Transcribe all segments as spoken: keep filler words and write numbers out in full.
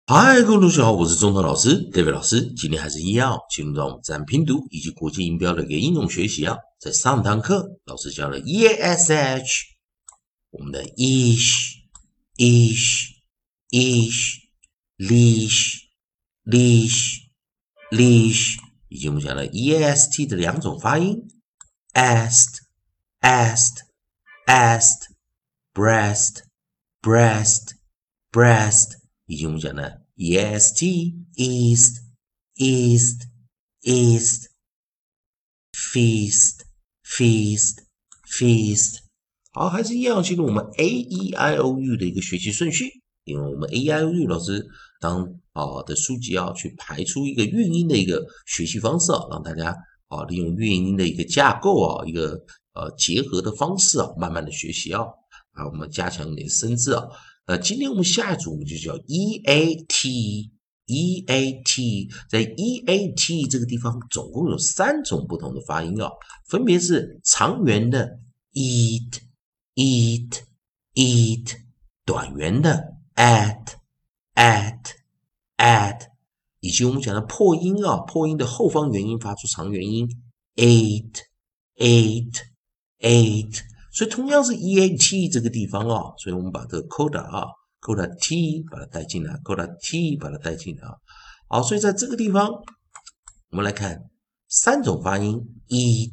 嗨，各位同学好，我是中头老师 David 老师。今天还是一样，进入到我们自然拼读以及国际音标的一个应用学习啊。在上堂课，老师教了 E A S H， 我们的 ish、ish、ish、leash、leash、leash， 以及我们讲了 E A S T 的两种发音 ，est、est、est、breast、breast、breast。以及我们讲的 E S T east east east feast feast feast。好，还是一样进入我们 A E I O U 的一个学习顺序。因为我们 A E I O U 老师当啊的书籍啊去排出一个韵音的一个学习方式啊，让大家啊利用韵音的一个架构啊一个呃结合的方式啊，慢慢的学习啊，啊我们加强一点生字啊。呃，今天我们下一组我们就叫 E A T E A T， 在 E A T 这个地方总共有三种不同的发音啊，分别是长元的 eat eat eat， 短元的 at at at， 以及我们讲的破音啊，破音的后方元音发出长元音 eight eight eight。所以同样是 E A T 这个地方啊，所以我们把这个 coda 啊 coda T 把它带进来 coda T 把它带进来啊。好，所以在这个地方我们来看三种发音 eat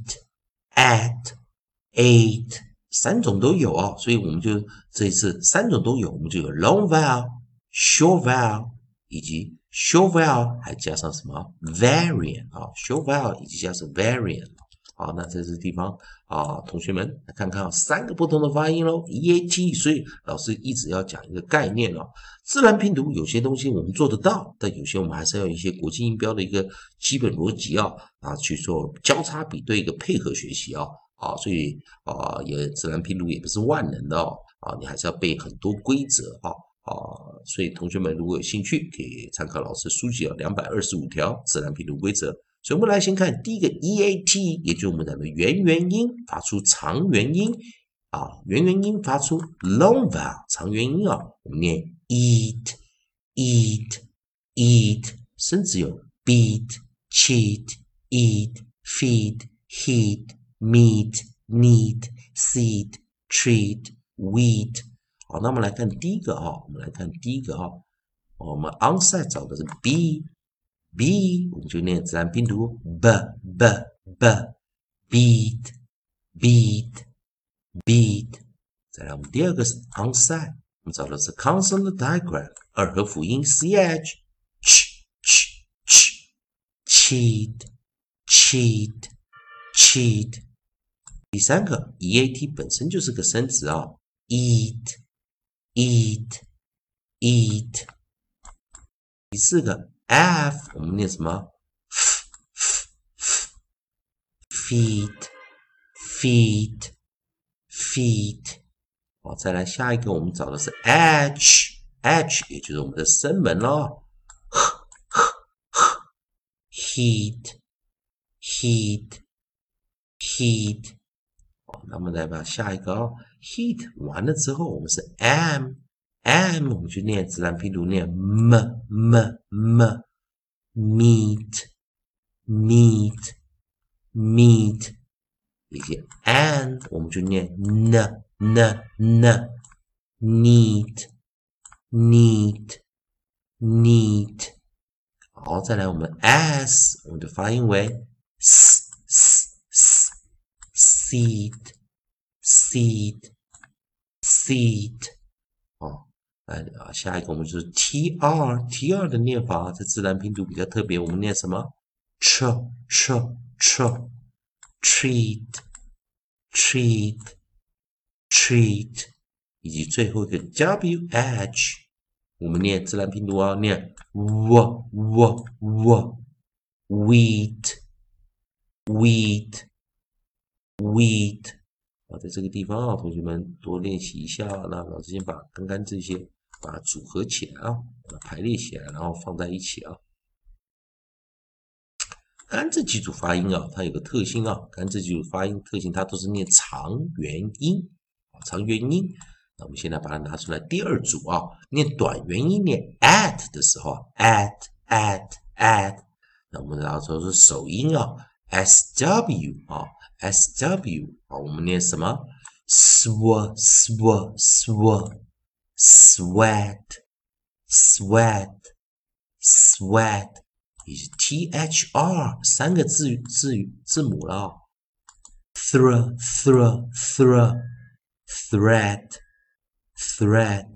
at ate 三种都有啊，所以我们就这一次三种都有，我们就有 long vowel short vowel 以及 short vowel 还加上什么 variant 啊 short vowel 以及加上 variant。好，那在这个地方啊，同学们来看看、啊、三个不同的发音咯 E A T， 所以老师一直要讲一个概念哦。自然拼读有些东西我们做得到，但有些我们还是要有一些国际音标的一个基本逻辑啊啊去做交叉比对一个配合学习啊啊，所以啊也自然拼读也不是万能的哦啊，你还是要背很多规则啊。啊，所以同学们如果有兴趣，可以参考老师书籍啊，两百二十五条自然拼读规则。所以我们来先看第一个 E A T， 也就是我们讲的元元音发出长元音啊，元元音发出 long vowel 长元音啊，我们念 eat eat eat， 甚至有 beat cheat eat feed heat meet neat seed treat wheat。好，那我们来看第一个啊，我们来看第一个啊，我们 onside 找的是 B。B 我们就念自然拼读 b b b beat beat beat。再来我们第二个是 onside， 我们找的是 consonant diagram 二合辅音 ch ch ch ch cheat cheat cheat。第三个 E A T 本身就是个生词啊 eat eat eat。第四个F 我们念什么 ？f f f feet feet feet。好，再来下一个，我们找的是 H H， 也就是我们的声门咯 heat heat heat。好，那么来把下一个哦 heat 完了之后，我们是 M M， 我们就念自然拼读念 m m m meat meat meat， 以及 and 我们就念 n n n neat neat neat。好，再来我们 s 我们的发音为 s s s seed seed seed。哦，啊，下一个我们就是 T R T R 的念法，在自然拼读比较特别，我们念什么 ？ch ch ch treat treat treat， 以及最后一个 W H， 我们念自然拼读啊，念 w w w wheat wheat wheat。好，在这个地方啊，同学们多练习一下。那老师先把刚刚这些把它组合起来啊，把它排列起来，然后放在一起啊。刚刚这几组发音啊，它有个特性啊，刚刚这几组发音特性，它都是念长元音啊，长元音。 那我们现在把它拿出来，第二组啊，念短元音念 at 的时候 ，at at at， 那我们拿出是首音啊 ，sw 啊 ，sw 啊，我们念什么 ？sw sw sw sweat sweat sweat， 也是 thr 三个字字字母了啊 ，thr thr thr thread thread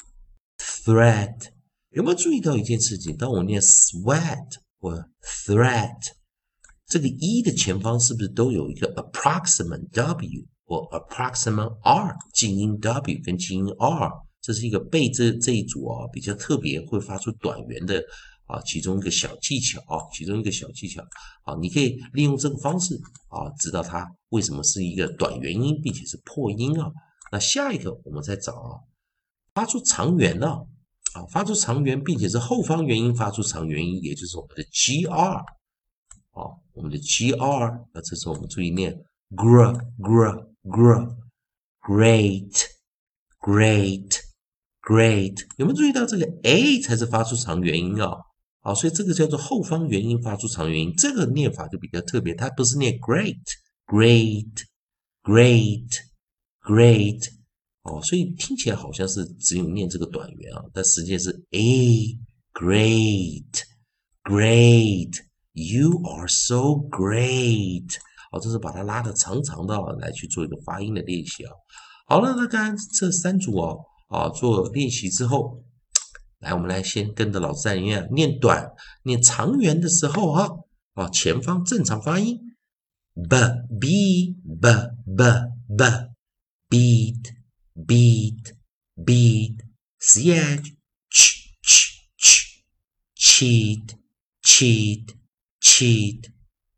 thread， 有没有注意到一件事情？当我念 sweat 或 thread， 这个 e 的前方是不是都有一个 approximate w 或 approximate r， 静音 w 跟静音 r， 这是一个背这这一组啊比较特别会发出短元的啊其中一个小技巧啊，其中一个小技巧啊，你可以利用这个方式啊，知道它为什么是一个短元音，并且是破音啊。那下一个我们再找啊，发出长元呢、啊，啊，发出长元，并且是后方元音发出长元音，也就是我们的 gr， 啊，我们的 gr， 那这时候我们注意念 gr gr gr great great great， 有没有注意到这个 a 才是发出长元音啊？啊，所以这个叫做后方元音发出长元音，这个念法就比较特别，它不是念 great great great great， 哦，所以听起来好像是只有念这个短元啊，但实际是 a great great you are so great， 哦，这是把它拉的长长的来去做一个发音的练习啊。好了，那刚刚这三组哦啊做练习之后，来我们来先跟着老师一样念短念长元的时候哈啊前方正常发音 b b b b b beat beat beat ch ch ch ch cheat cheat cheat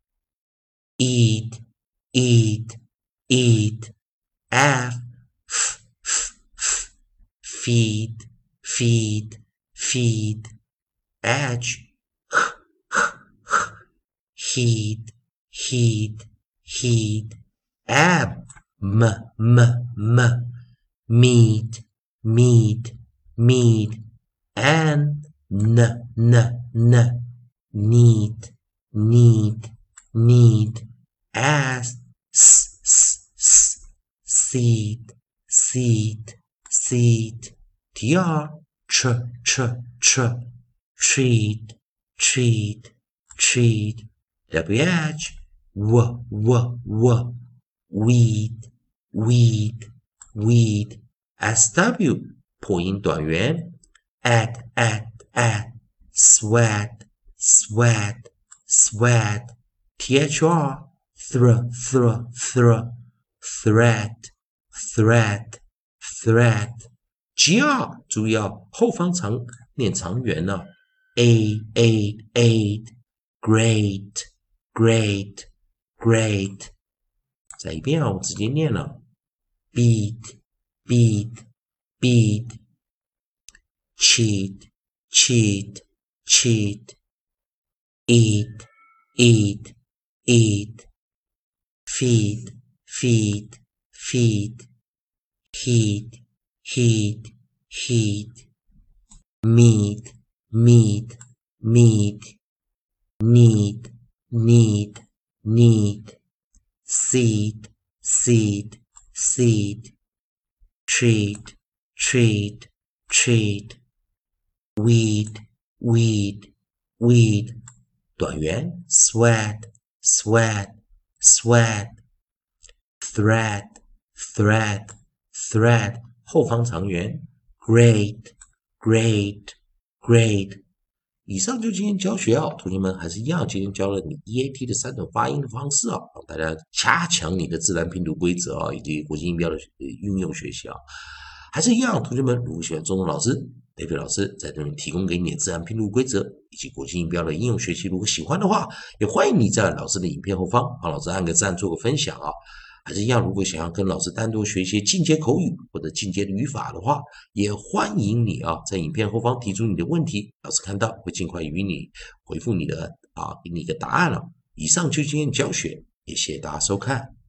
eat eat eat f f f f feed feed feed edge h h h heed heed heed ab m m m meet meet meet and n n n need need need as s s s seed seed seed tr ch ch ch treat treat treat wh w w w weed weed weed sw 破音短元 at at at sweat sweat sweat thr thr thr thr thread thread thread gr 注意哦，后方长念长元呢、啊、a a a great great great， 再一遍啊，我直接念了 beat beat beat cheat cheat cheat eat eat eat feed feed feed heat heat heat meet meet meet need need need seed seed seed treat treat treat weed weed weed 短元 sweat sweat sweat thread thread thread 后方长元 great great great。 以上就今天教学啊，同学们还是一样，今天教了你 E A T 的三种发音的方式啊，让大家加强你的自然拼读规则啊，以及国际音标的运用学习啊，还是一样，同学们如果喜欢中文老师培培老师在这里提供给你的自然拼读规则以及国际音标的应用学习，如果喜欢的话，也欢迎你在老师的影片后方帮老师按个赞，做个分享啊。还是一样，如果想要跟老师单独学习进阶口语或者进阶的语法的话，也欢迎你啊，在影片后方提出你的问题，老师看到会尽快与你回复你的啊，给你一个答案了。以上就是今天的教学，也谢谢大家收看。